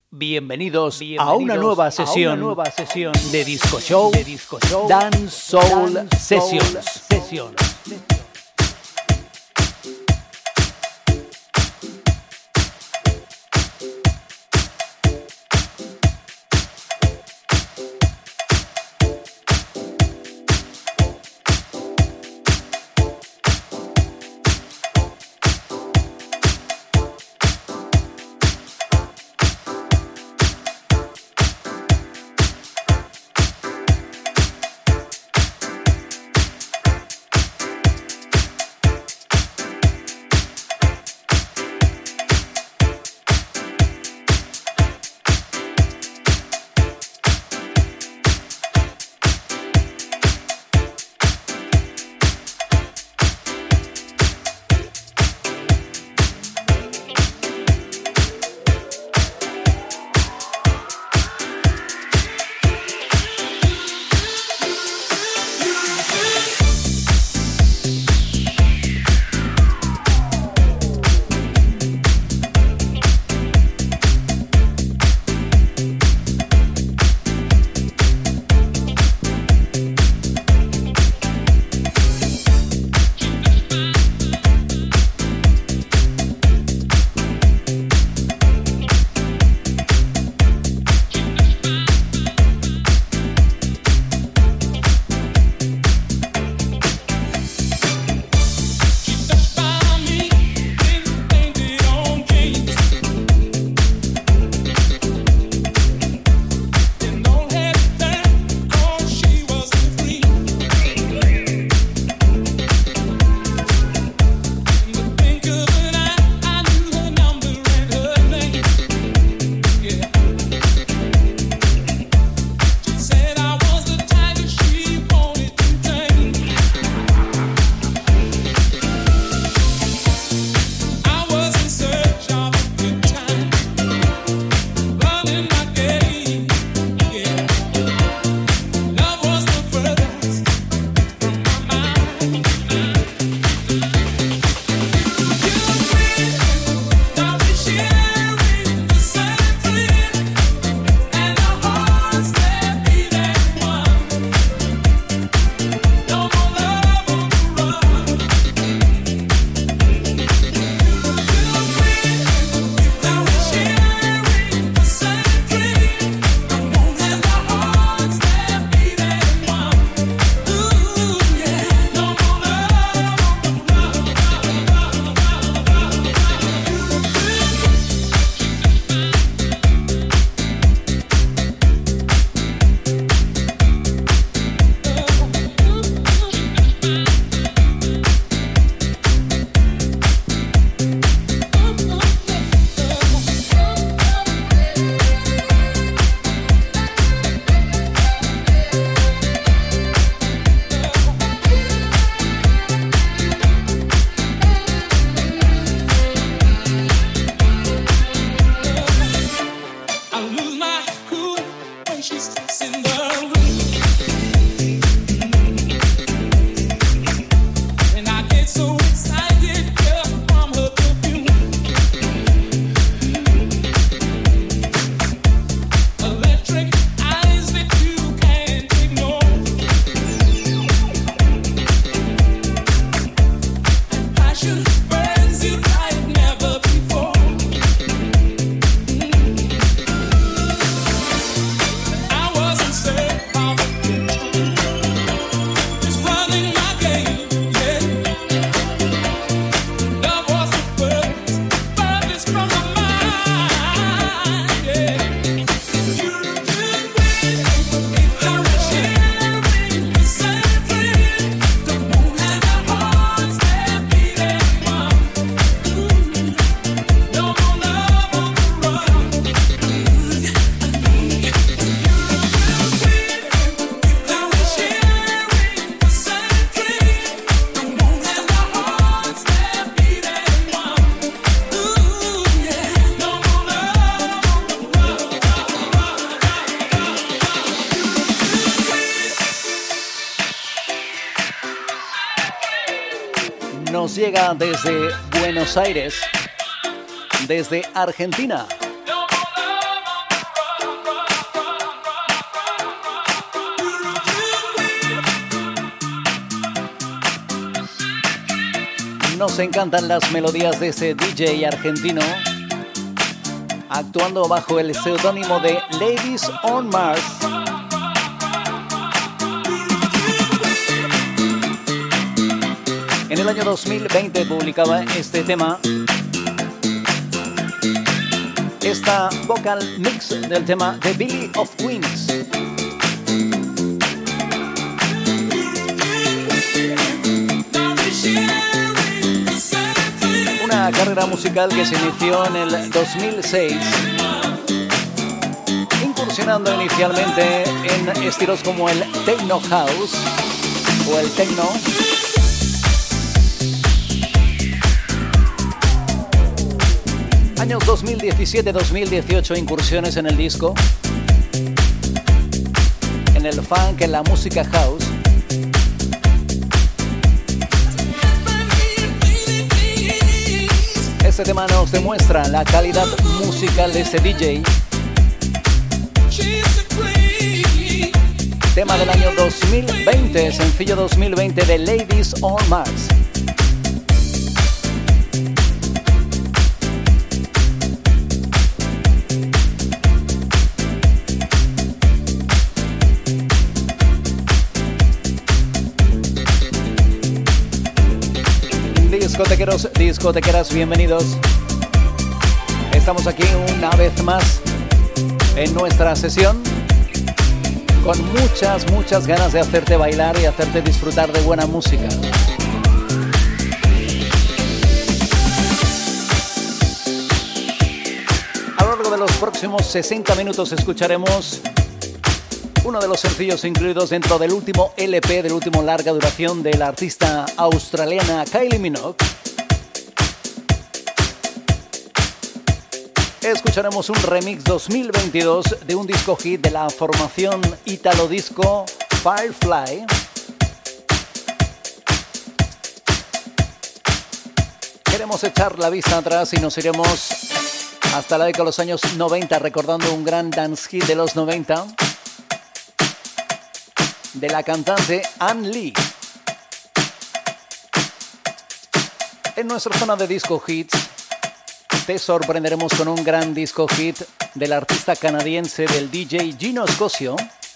Bienvenidos a una nueva sesión de Disco Show, Dance Soul Sessions. Nos llega desde Buenos Aires, desde Argentina. Nos encantan las melodías de ese DJ argentino, actuando bajo el seudónimo de Ladies on Mars. En el año 2020 publicaba este tema, esta vocal mix del tema The Belly of Queens. Una carrera musical que se inició en el 2006, incursionando inicialmente en estilos como el techno house o el techno. Años 2017-2018, incursiones en el disco, en el funk, en la música house. Este tema nos demuestra la calidad musical de este DJ. Tema del año 2020, sencillo 2020 de Ladies on Mars. Discotequeros, discotequeras, bienvenidos. Estamos aquí una vez más en nuestra sesión con muchas ganas de hacerte bailar y hacerte disfrutar de buena música. A lo largo de los próximos 60 minutos escucharemos uno de los sencillos incluidos dentro del último LP, del último larga duración de la artista australiana Kylie Minogue. Escucharemos un remix 2022 de un disco hit de la formación italo disco Firefly. Queremos echar la vista atrás y nos iremos hasta la década de los años 90 recordando un gran dance hit de los 90 de la cantante Ann Lee. En nuestra zona de disco hits te sorprenderemos con un gran disco hit del artista canadiense del DJ Gino Scosio.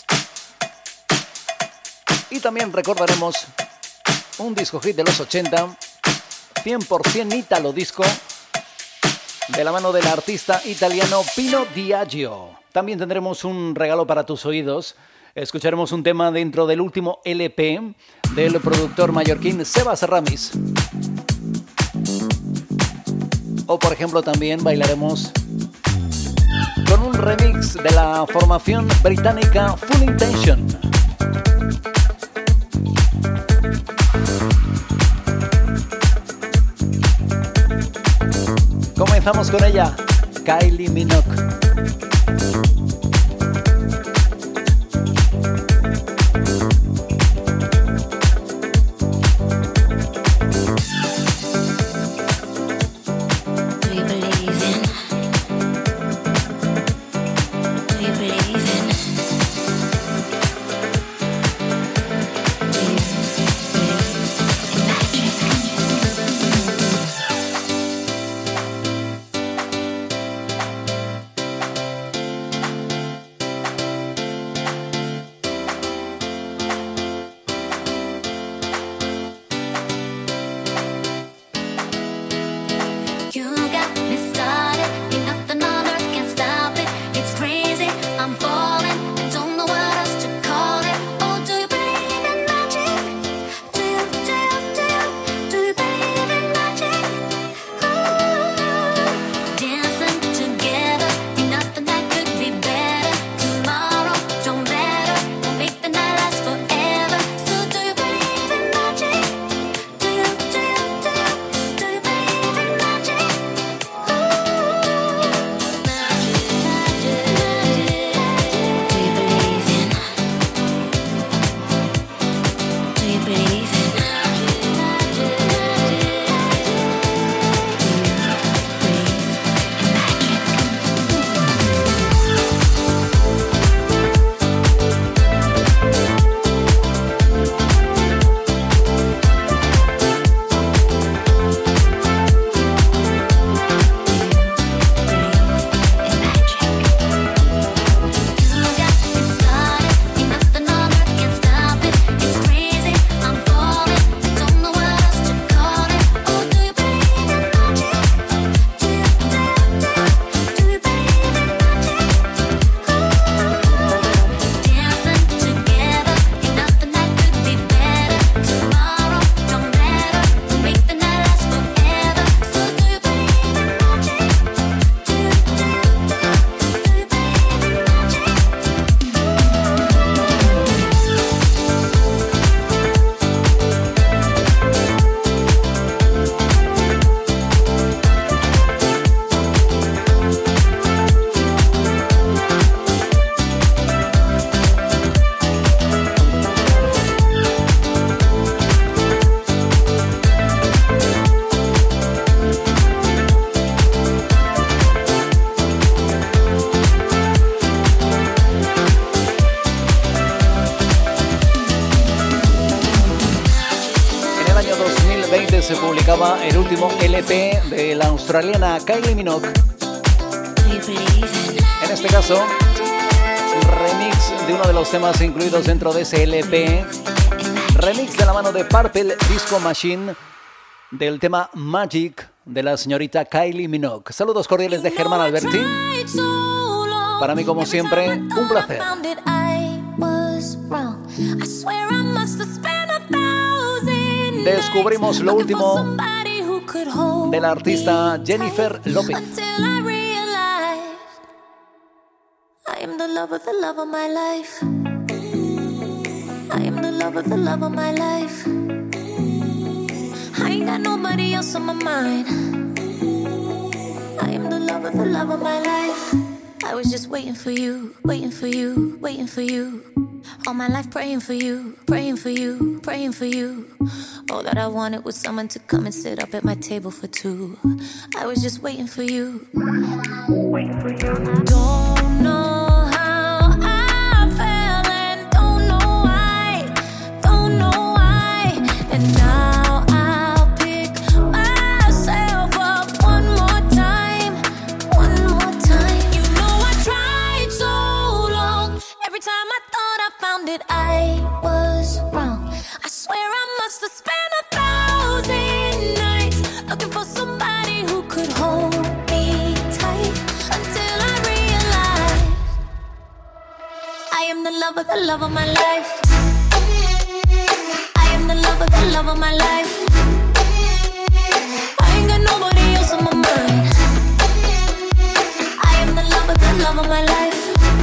Y también recordaremos un disco hit de los 80, 100% italo disco, de la mano del artista italiano Pino Diageo. También tendremos un regalo para tus oídos. Escucharemos un tema dentro del último LP del productor mallorquín Sebas Ramis. O por ejemplo también bailaremos con un remix de la formación británica Full Intention. Comenzamos con ella, Kylie Minogue. se publicaba el último LP de la australiana Kylie Minogue. En este caso, remix de uno de los temas incluidos dentro de ese LP. Remix de la mano de Purple Disco Machine del tema Magic de la señorita Kylie Minogue. Saludos cordiales de Germán Alberti. Para mí, como siempre, un placer. Descubrimos lo último de la artista Jennifer Lopez. I am the love of the love of my life. I am the love of the love of my life. I ain't got nobody else on my mind. I am the love of the love of my life. I was just waiting for you, waiting for you, waiting for you. All my life praying for you, praying for you, praying for you. All that I wanted was someone to come and sit up at my table for two. I was just waiting for you. Waiting for you. Don't know. I was wrong. I swear I must have spent 1,000 nights looking for somebody who could hold me tight until I realized I am the love of the love of my life. I am the love of the love of my life. I ain't got nobody else on my mind. I am the love of the love of my life.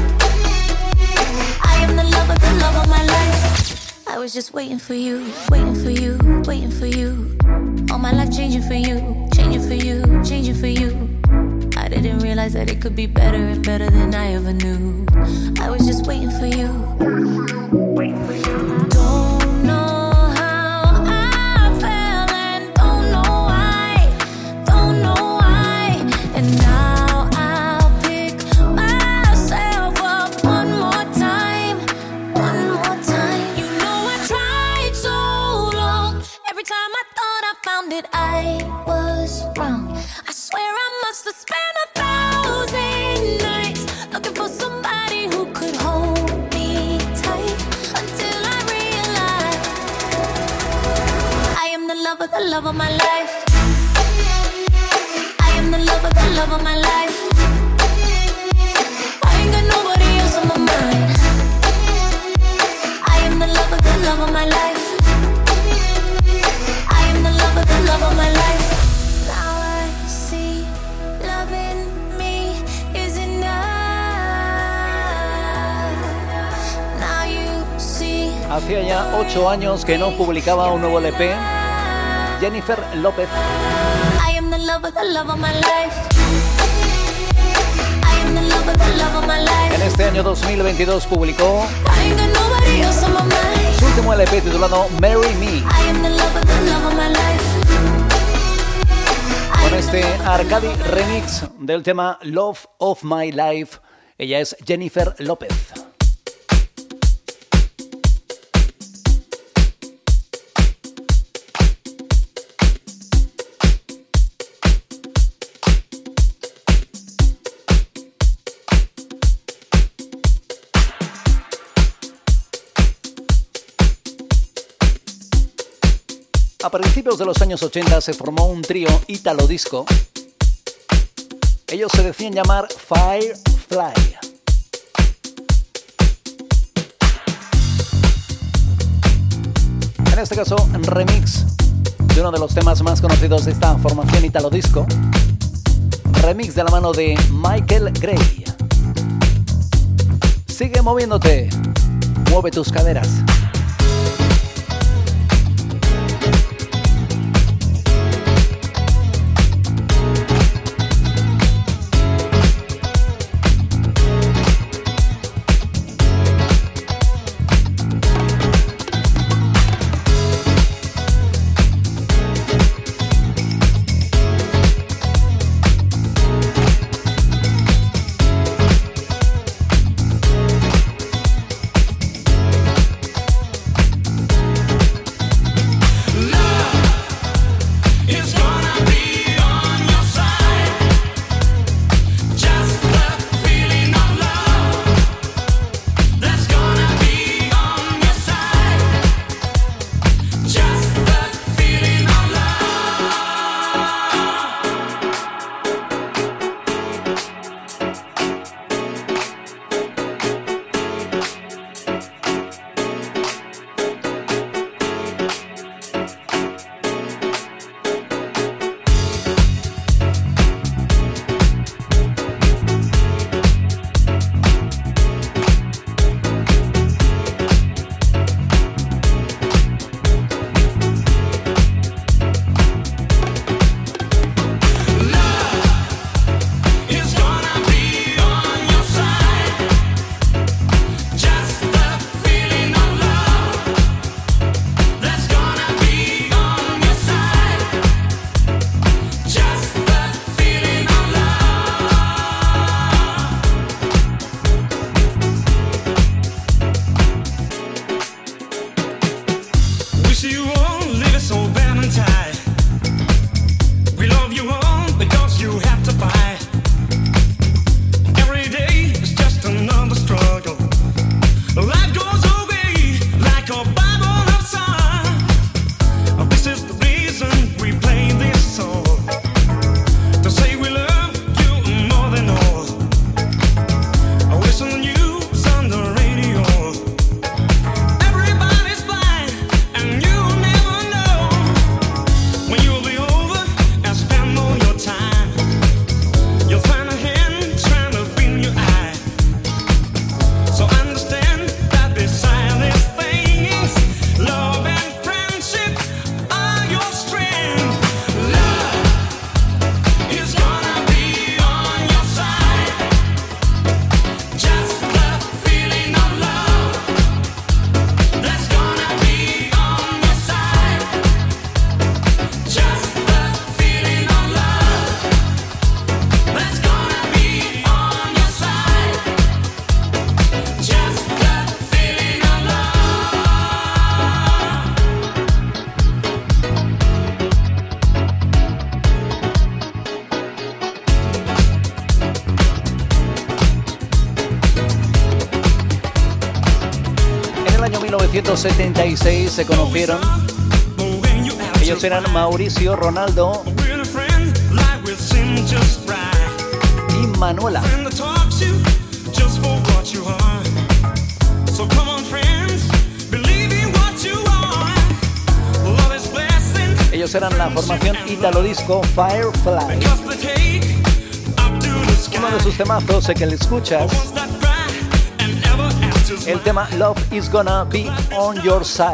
The love of my life. I was just waiting for you, waiting for you, waiting for you. All my life changing for you, changing for you, changing for you. I didn't realize that it could be better and better than I ever knew. I was just waiting for you, waiting for you. Don't know how I fell and don't know why, don't know why. And now I'll pick myself up one more time. One more time. You know I tried so long. Every time I thought I found it, I was wrong. I swear I must have spent 1,000 nights looking for somebody who could hold me tight until I realized I am the love of the love of my life. I am the love of the love of my life. I ain't got nobody else on my mind. The love of the love of my life. I am the love of the love of my life. Now I see loving me is enough. Now you see. Hacía ya 8 años que no publicaba un nuevo LP. Jennifer Lopez. I am the love of the love of my life. I am the love of the love of my life. En este año 2022 publicó I ain't got nobody else on my mind. su último LP titulado Marry Me. I am the love of the love of my life. Con este Arcadi remix del tema Love of My Life. Ella es Jennifer Lopez. A principios de los años 80 se formó un trío ítalo disco. Ellos se decían llamar Firefly. En este caso, un remix de uno de los temas más conocidos de esta formación ítalo disco. Remix de la mano de Michael Gray. Sigue moviéndote. Mueve tus caderas. año 1976 se conocieron. Ellos eran Mauricio, Ronaldo y Manuela. Ellos eran la formación Italo Disco Firefly. Uno de sus temazos que le escuchas, el tema Love is Gonna Be On Your Side.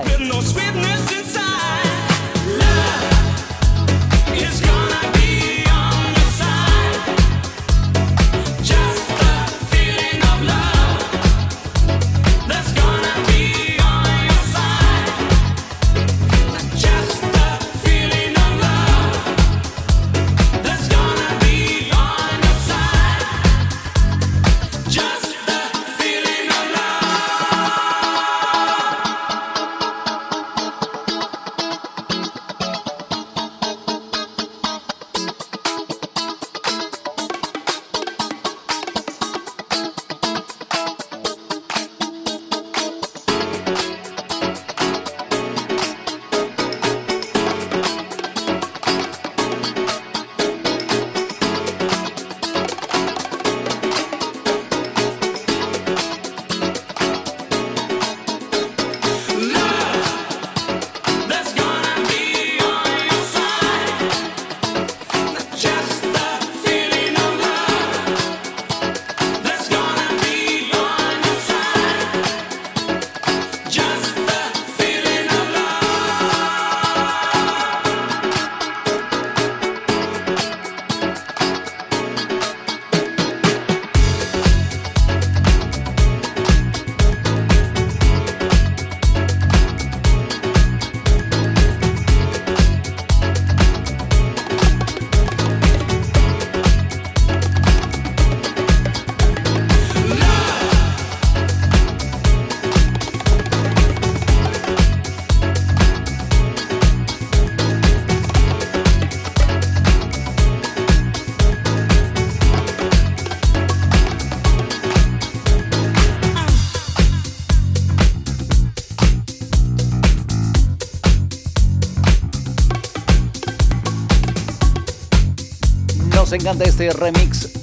Nos encanta este remix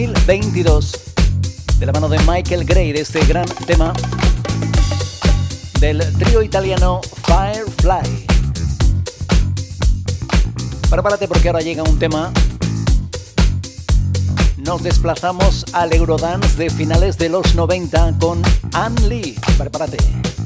2022 de la mano de Michael Gray de este gran tema del trío italiano Firefly. Prepárate porque ahora llega un tema. Nos desplazamos al Eurodance de finales de los 90 con Ann Lee. Prepárate.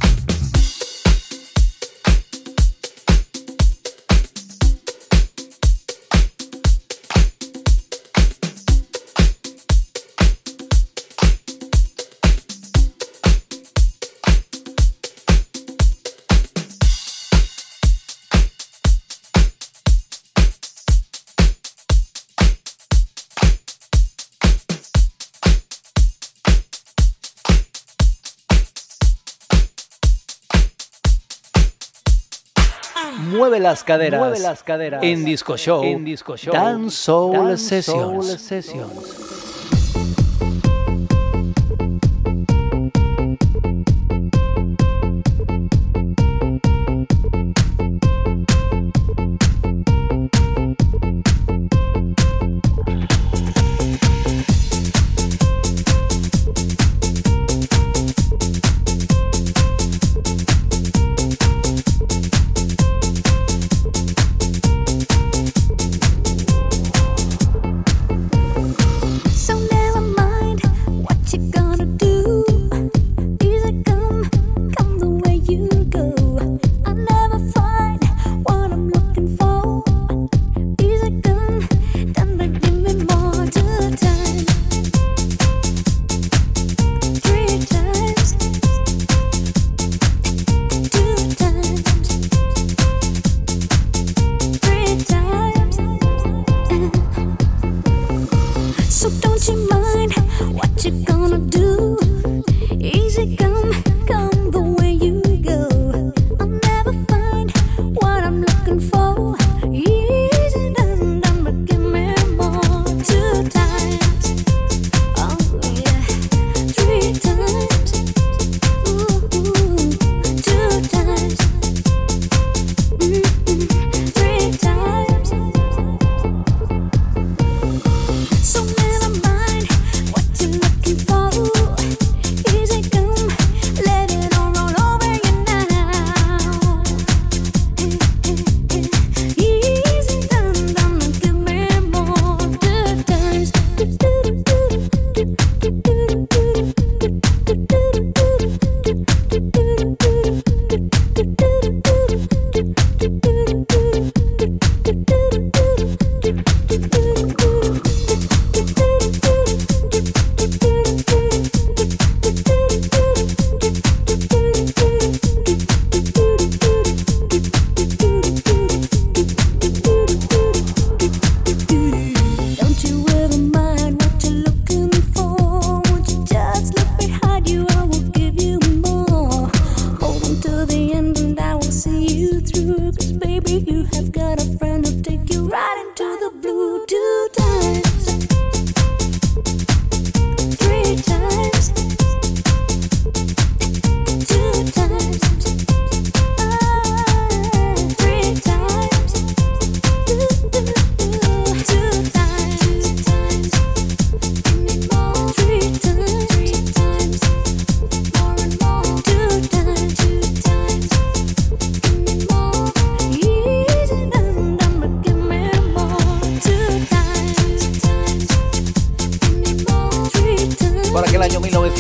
Mueve las caderas, en Disco Show, Dance Soul Sessions.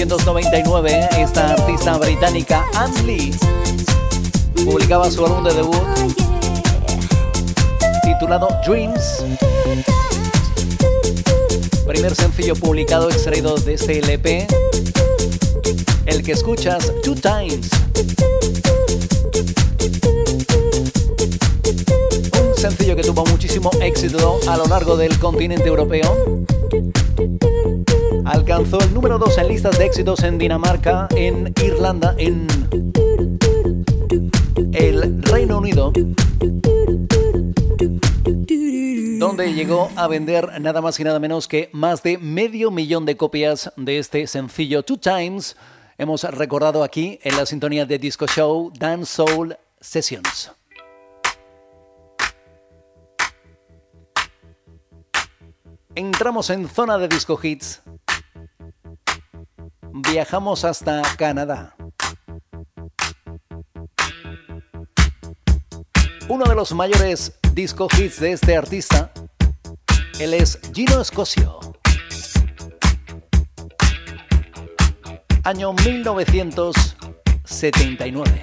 1999, esta artista británica, Anne Lee, publicaba su álbum de debut titulado Dreams. Primer sencillo publicado extraído de este LP, el que escuchas, Two Times. Un sencillo que tuvo muchísimo éxito a lo largo del continente europeo. Alcanzó el número 2 en listas de éxitos en Dinamarca, en Irlanda, en el Reino Unido, donde llegó a vender nada más y nada menos que más de 500,000 de copias de este sencillo Two Times. Hemos recordado aquí en la sintonía de Disco Show Dance Soul Sessions. Entramos en zona de disco hits. Viajamos hasta Canadá. Uno de los mayores disco hits de este artista, él es Gino Scoggio. Año 1979.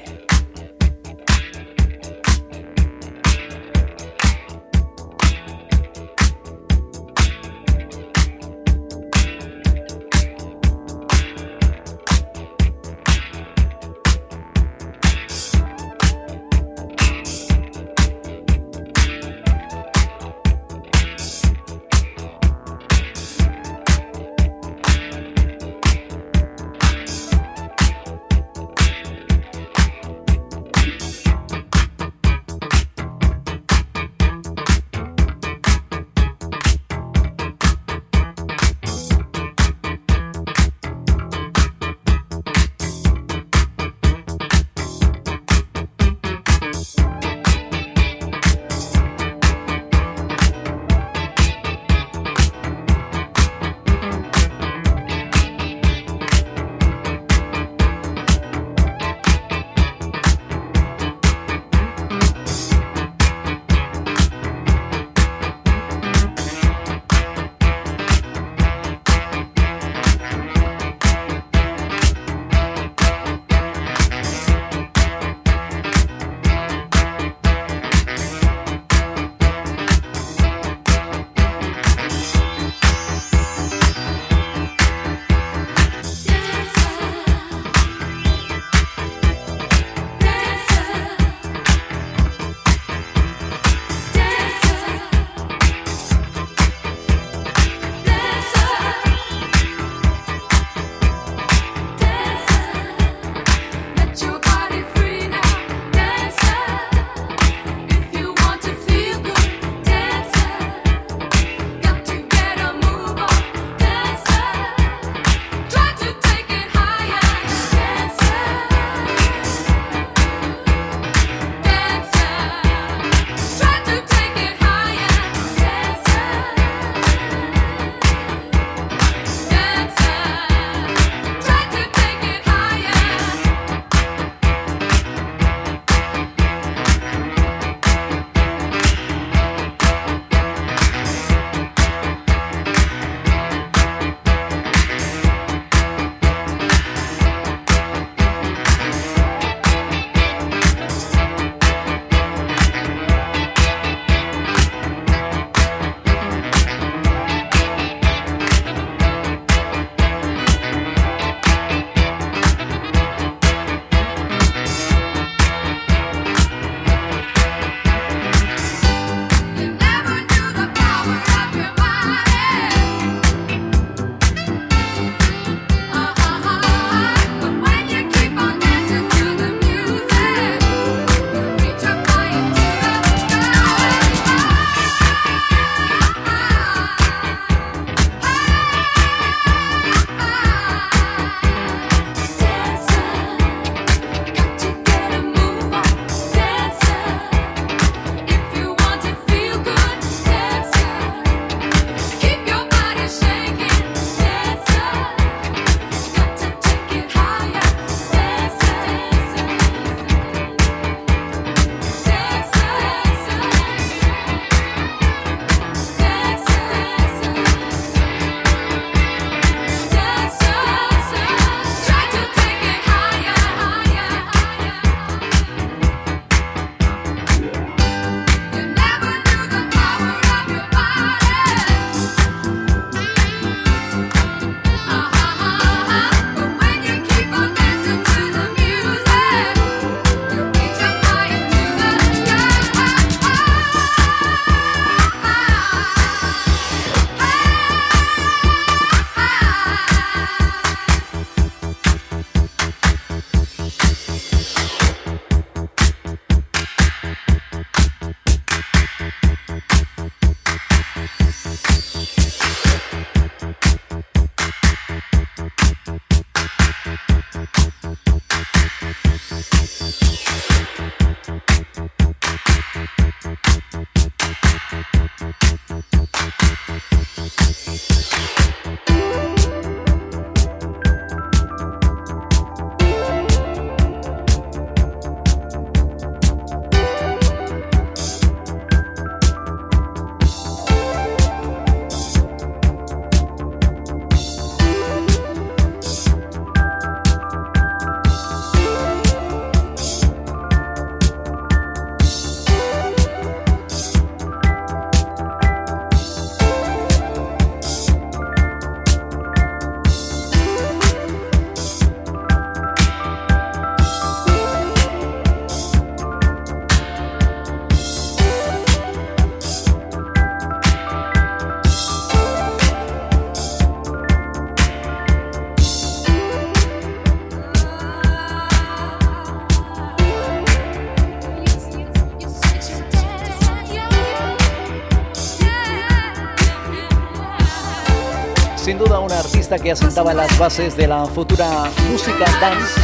Sin duda una artista que asentaba las bases de la futura música dance.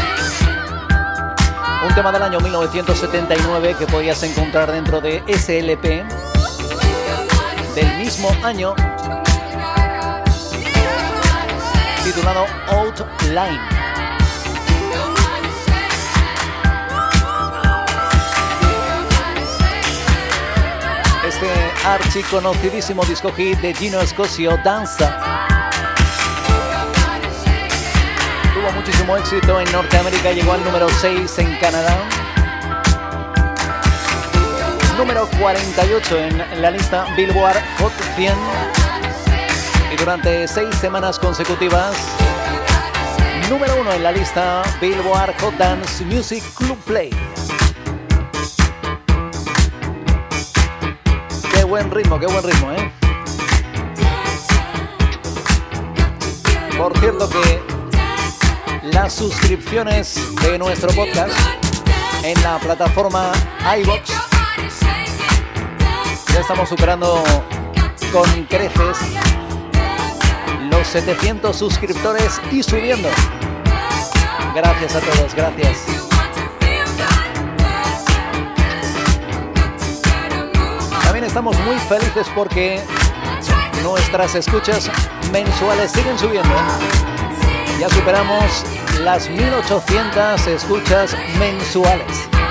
Un tema del año 1979 que podías encontrar dentro de SLP del mismo año, titulado Outline. Este archiconocidísimo disco hit de Gino Scosio, Danza, tuvo muchísimo éxito en Norteamérica, llegó al número 6 en Canadá, número 48 en la lista Billboard Hot 100 y durante 6 semanas consecutivas, número 1 en la lista Billboard Hot Dance Music Club Play. Qué buen ritmo, ¿eh? Por cierto que las suscripciones de nuestro podcast en la plataforma iVoox ya estamos superando con creces los 700 suscriptores y subiendo. Gracias a todos, gracias. También estamos muy felices porque nuestras escuchas mensuales siguen subiendo. Ya superamos las 1800 escuchas mensuales.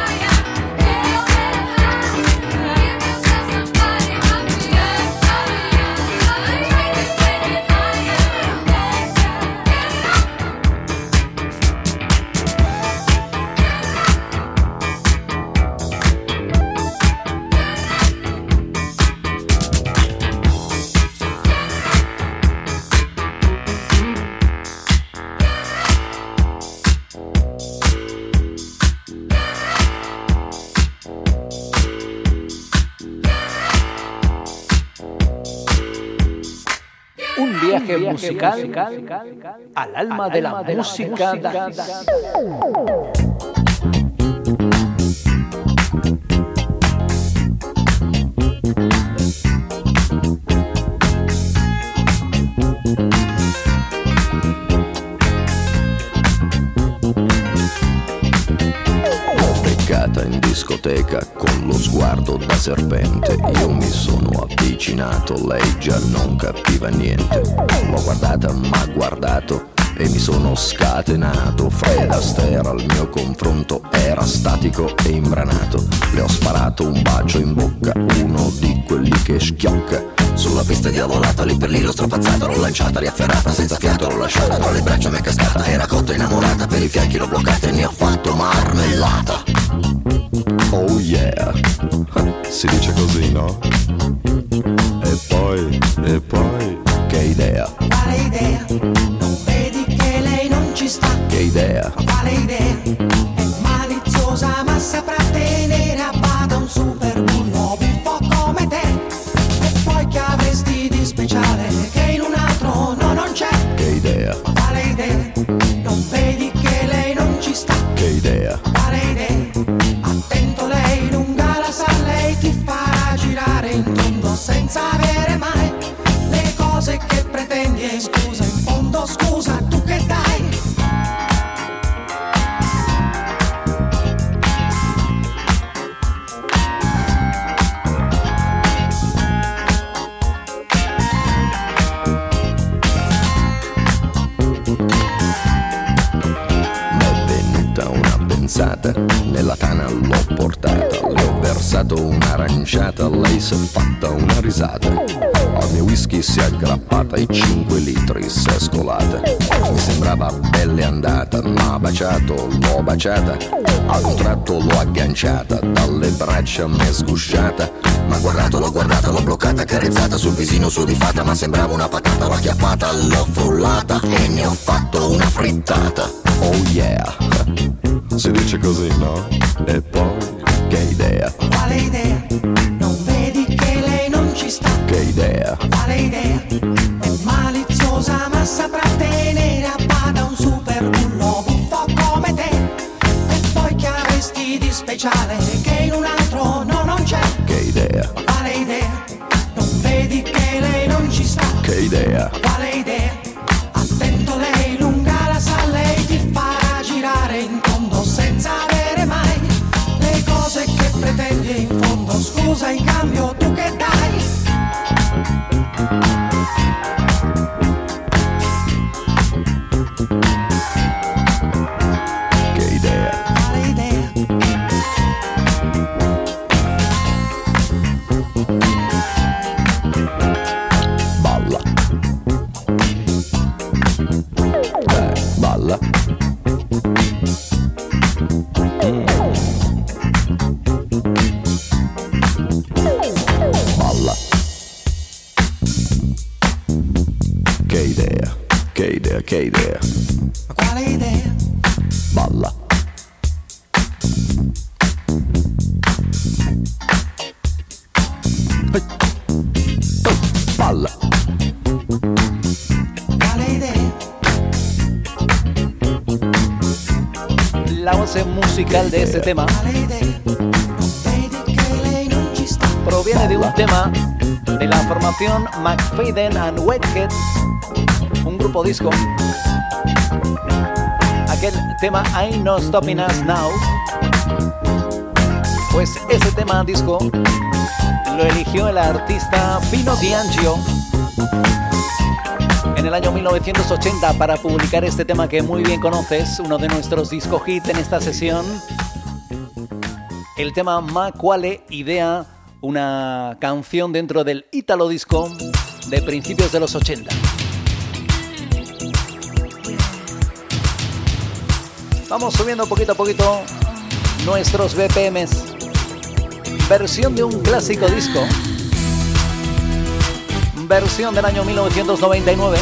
Viaje musical al alma de la música dance. In discoteca con lo sguardo da serpente, io mi sono avvicinato, lei già non capiva niente. L'ho guardata, m'ha guardato e mi sono scatenato. Fred Astaire al mio confronto era statico e imbranato. Le ho sparato un bacio in bocca, uno di quelli che schiocca. Sulla pista diavolata, lì per lì l'ho strappazzata, l'ho lanciata, riafferrata, senza fiato l'ho lasciata, tra le braccia m'è cascata, era cotta innamorata, per i fianchi l'ho bloccata e ne ho fatto marmellata. Oh yeah, si dice così, no? E poi, che idea? Quale idea? Non vedi che lei non ci sta? Che idea? Quale idea? È maliziosa ma saprà tenere a bada un super bullo buffo come te. E poi che avresti di speciale che in un altro no non c'è? Che idea? Quale idea? Non vedi che lei non ci sta? Che idea? Quale idea? Attento, lei lunga la sa, lei ti farà girare in tondo senza avere mai le cose che pretendi. E scusa, in fondo scusa, tu che dai? fidanzata, nella tana l'ho portata, le ho versato un'aranciata, lei si è fatta una risata, al mio whisky si è aggrappata e 5 litri si è scolata, mi sembrava belle andata, m'ha baciato, l'ho baciata, ad un tratto l'ho agganciata, dalle braccia m'è sgusciata, m'ha guardato, l'ho bloccata, carezzata sul visino sudifata, ma sembrava una patata, l'ho acchiappata, l'ho frullata e ne ho fatto una frittata. Oh yeah, si dice così, no? E poi, che idea? Quale idea? Non vedi che lei non ci sta? Che idea? Quale idea? È maliziosa ma saprà tenere a bada un super bullo buffo come te. E poi che avresti di speciale che in un altro no, non c'è? Che idea? Quale idea? Non vedi che lei non ci sta? Che idea? Quale idea? Attento, lei lunga la sa, lei ti farà girare in tondo senza avere mai le cose che pretendi in fondo. Scusa, in cambio tu che dai? Che idea? Quale idea? Balla. Balla. Balla. Che idea? Che idea? Che idea? Quale idea? Balla. Balla. Quale idea? La base musical de este tema Quale idea? Non vedi che lei non ci sta? proviene de un tema de la formación McFadden and Whitehead, un grupo disco. Aquel tema Ain't No Stopping Us Now, pues ese tema disco lo eligió el artista Pino D'Angio en el año 1980 para publicar este tema que muy bien conoces, uno de nuestros disco hit en esta sesión, el tema Ma Quale Idea, una canción dentro del Italo Disco de principios de los 80. Vamos subiendo poquito a poquito nuestros BPMs. Versión de un clásico disco. Versión del año 1999.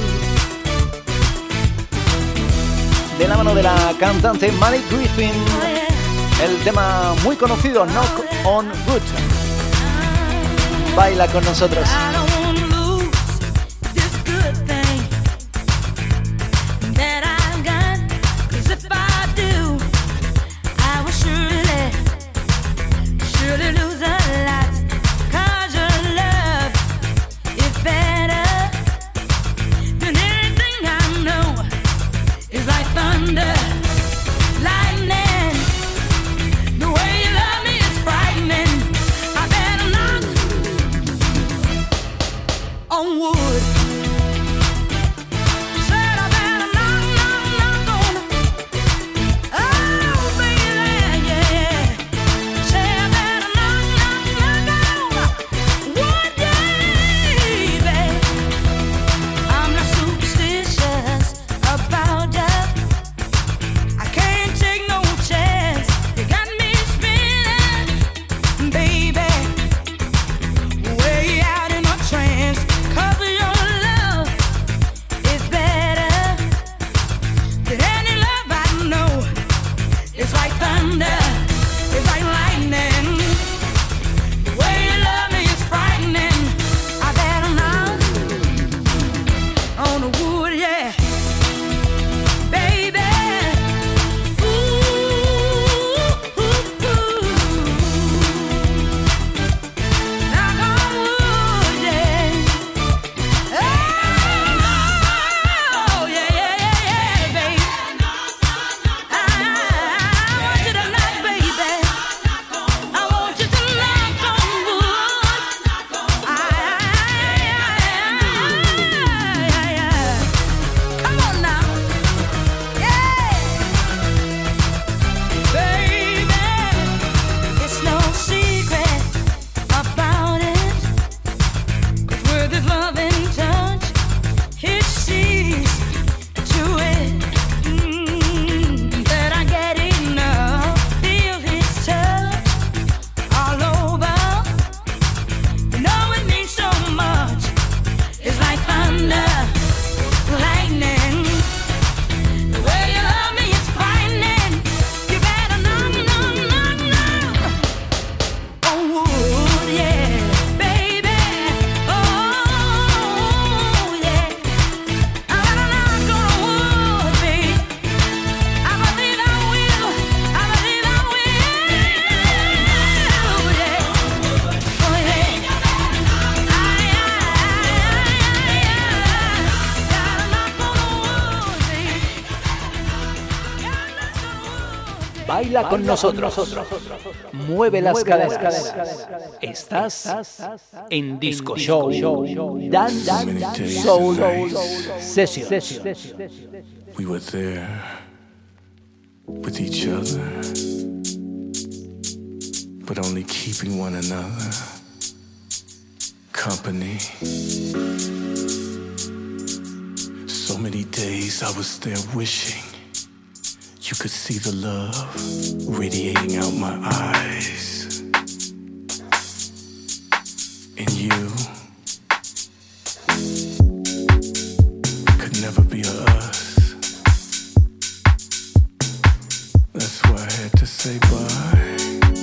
De la mano de la cantante Mary Griffin. El tema muy conocido, Knock on Wood. Baila con nosotros. Baila con nosotros. Mueve las caderas. Estás en Disco Show. Dance Soul Sessions. We were there with each other, but only keeping one another company. So many days I was there wishing you could see the love radiating out my eyes. And you could never be us. That's why I had to say bye.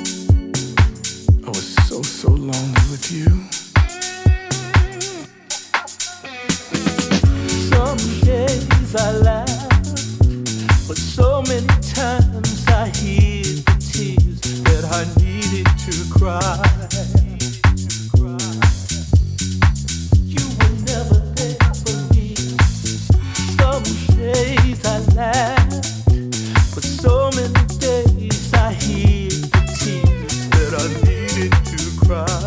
I was so lonely with you. Some days I laugh, but so many times I hid the tears that I needed to cry. You were never there for me. Some days I laughed, but so many days I hid the tears that I needed to cry.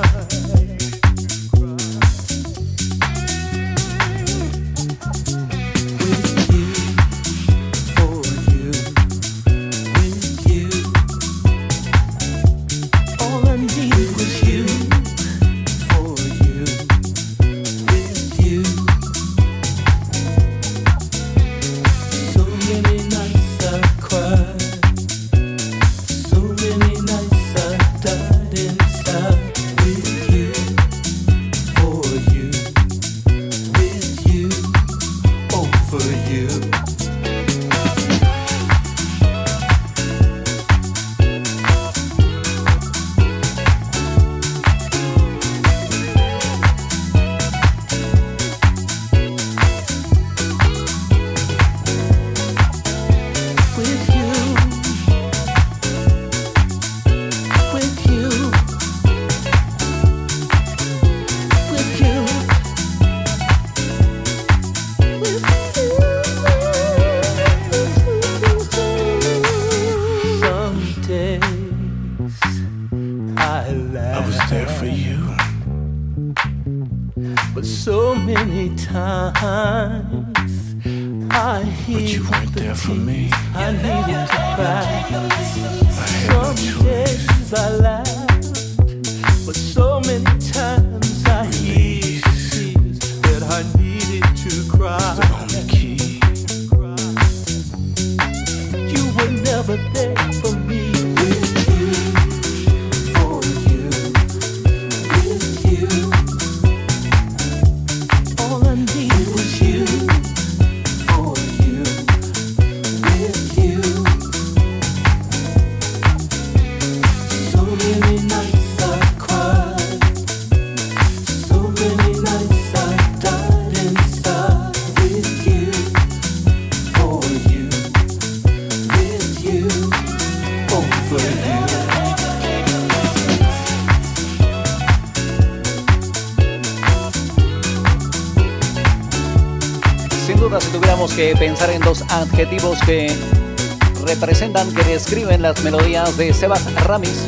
Que pensar en dos adjetivos que representan, que describen las melodías de Sebas Ramis,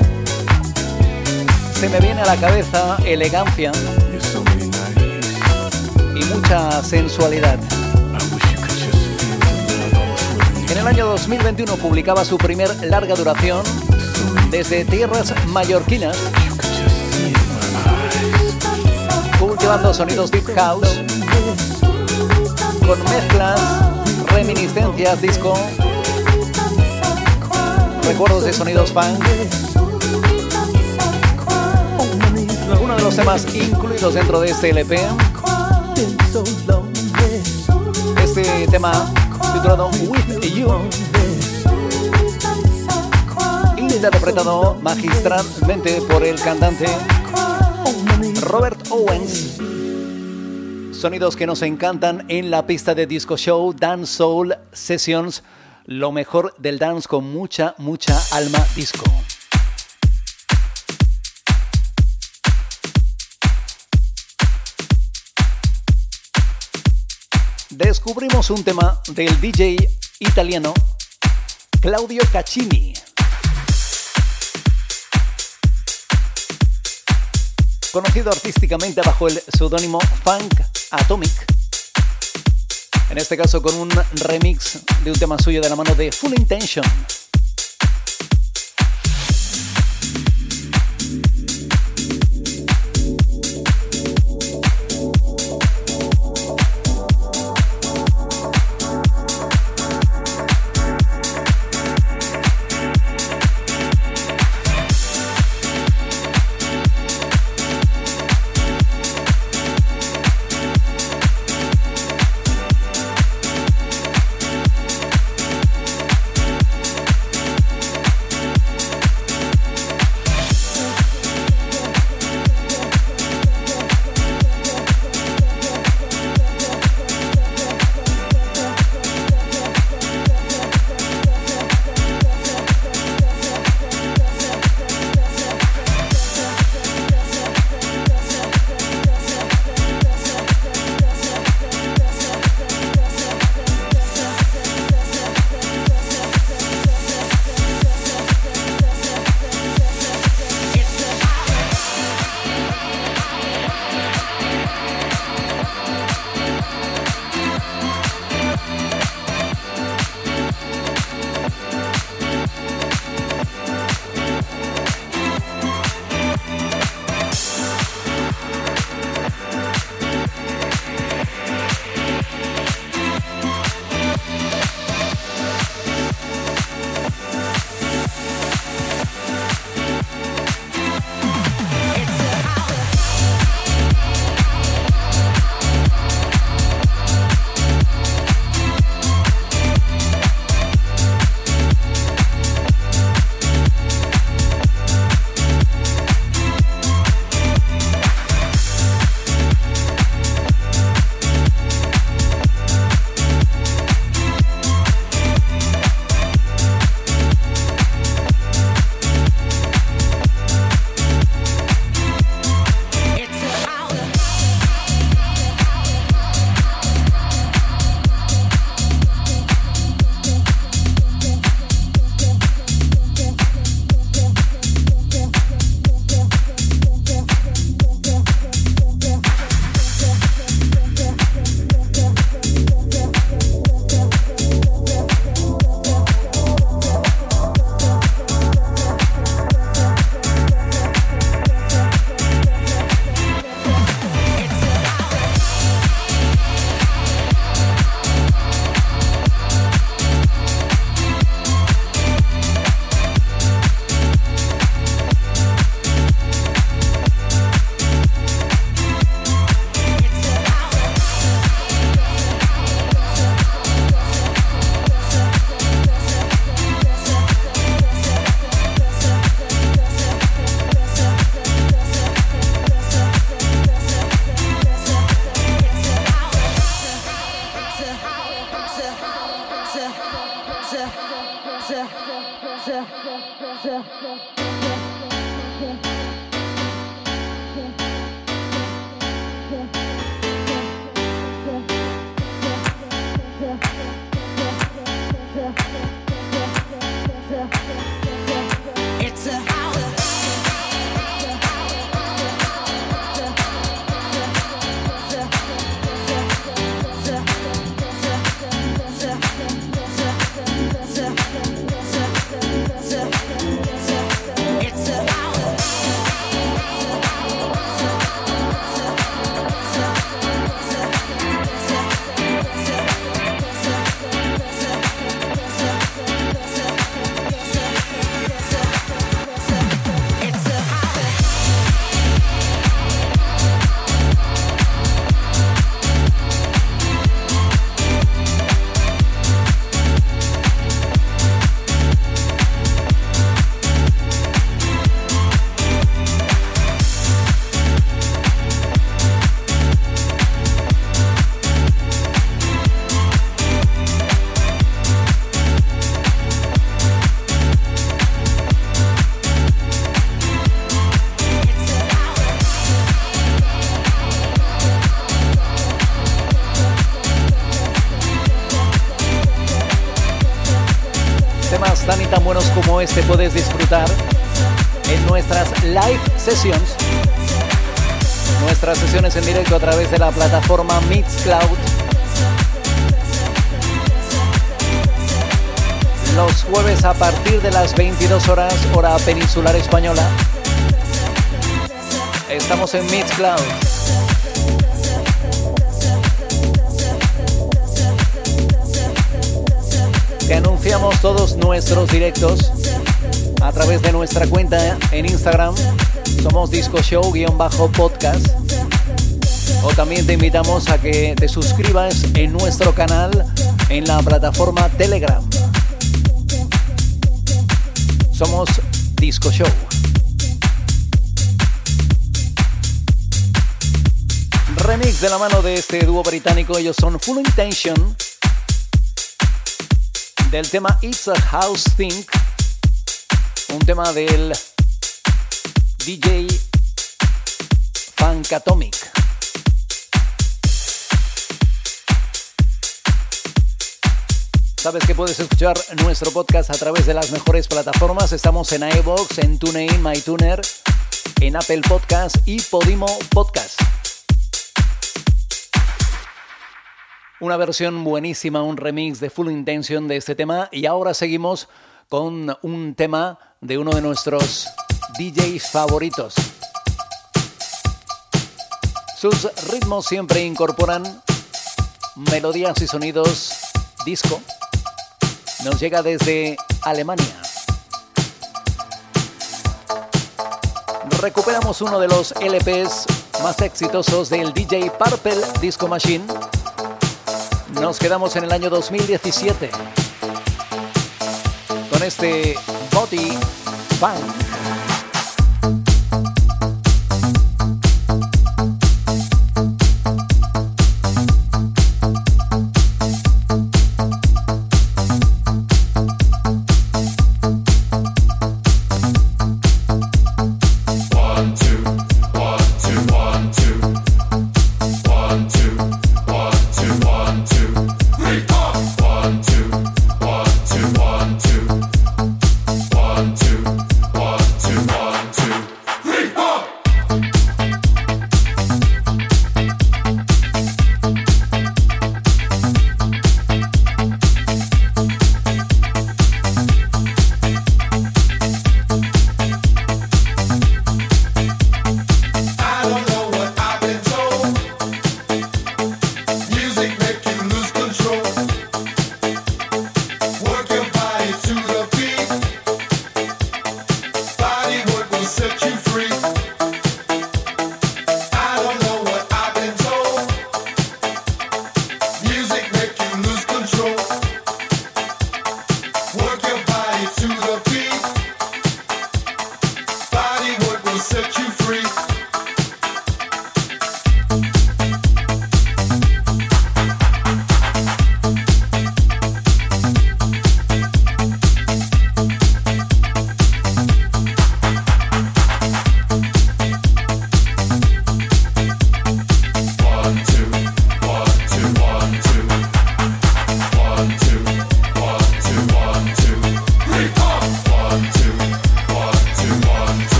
se me viene a la cabeza elegancia y mucha sensualidad. En el año 2021 publicaba su primer larga duración desde tierras mallorquinas, cultivando sonidos deep house con mezclas, reminiscencias, disco, recuerdos de sonidos funk. Uno de los temas incluidos dentro de este LP, este tema titulado With You, interpretado magistralmente por el cantante Robert Owens. Sonidos que nos encantan en la pista de Disco Show Dance Soul Sessions, lo mejor del dance con mucha alma disco. Descubrimos un tema del DJ italiano Claudio Caccini. conocido artísticamente bajo el seudónimo Funk Atomic. En este caso con un remix de un tema suyo de la mano de Full Intention. Tan y tan buenos como este puedes disfrutar en nuestras live sessions Nuestras sesiones en directo a través de la plataforma Mixcloud. Los jueves a partir de las 22 horas, hora peninsular española. Estamos en Mixcloud. Te anunciamos todos nuestros directos a través de nuestra cuenta en Instagram. Somos Disco Show-podcast. O también te invitamos a que te suscribas en nuestro canal en la plataforma Telegram. Somos Disco Show. Remix de la mano de este dúo británico. Ellos son Full Intention, del tema It's a House Thing, un tema del DJ Funkatomic. Sabes que puedes escuchar nuestro podcast a través de las mejores plataformas. Estamos en iVoox, en TuneIn, MyTuner, en Apple Podcast y Podimo Podcast. Una versión buenísima, un remix de Full Intention de este tema. Y ahora seguimos con un tema de uno de nuestros DJs favoritos. Sus ritmos siempre incorporan melodías y sonidos disco. Nos llega desde Alemania. Recuperamos uno de los LPs más exitosos del DJ Purple Disco Machine. Nos quedamos en el año 2017 con este Body Funk.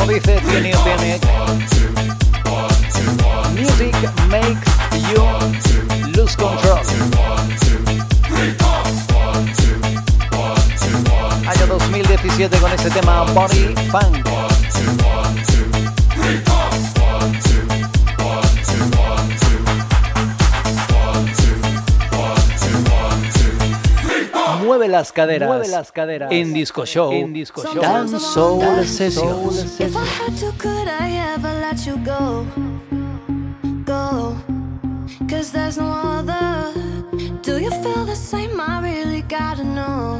Como dice Tiene Tiene, Music makes you lose control. Año 2017 con este tema Body Funk. Mueve las caderas en Disco Show, Dance Soul Sessions. If I had to, could I ever let you go? Go, 'cause there's no other. Do you feel the same? I really gotta know.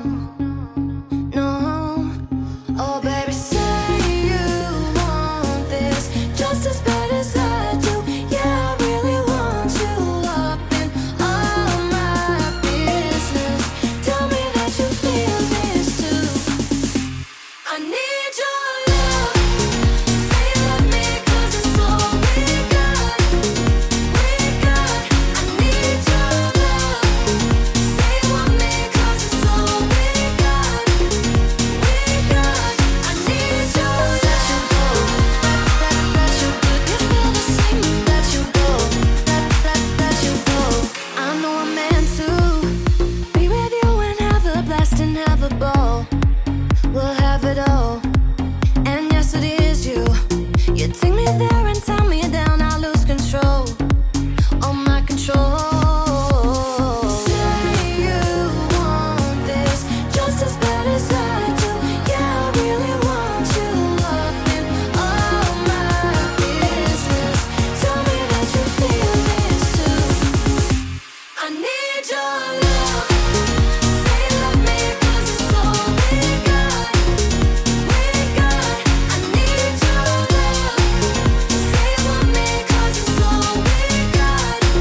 No, oh baby, say you want this just as bad as I do. Yeah, I really want you up in all my business. Tell me that you feel this too. I need your love. Say you love me 'cause it's all we got. I need your love. Say you want me 'cause it's all we got. I need your love. Let you go. Let you go. You feel the same. Let you go. Let you go. I know I'm meant to be with you and have a blast and have a ball. We'll have it all. And yes, it is you. You take me there and tie me down. I lose control. All my control. Say you want this just as bad as I do. Yeah, I really want you up in all my business. Tell me that you feel this too. I need your love. Say you love me 'cause it's all we got. I need your love. Say you want me 'cause it's all we got. I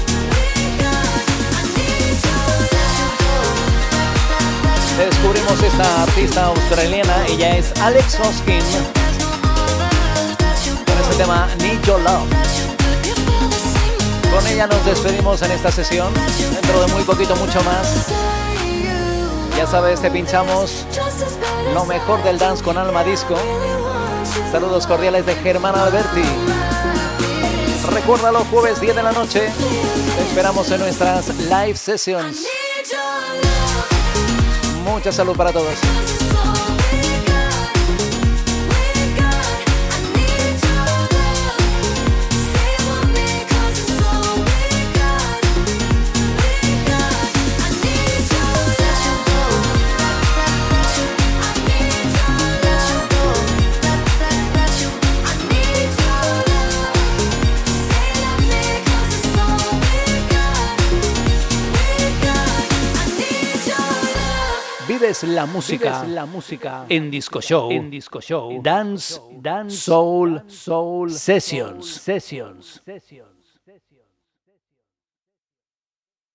need your love. Descubrimos esta artista australiana, ella es Alex Hoskin, con este tema Need Your Love. Con ella nos despedimos en esta sesión, dentro de muy poquito mucho más. Ya sabes, te pinchamos lo mejor del dance con Alma Disco. Saludos cordiales de Germán Alberti. Recuerda, los jueves 10 de la noche te esperamos en nuestras live sessions. Mucha salud para todos. Vives la música en Disco Show, Dance Soul Sessions.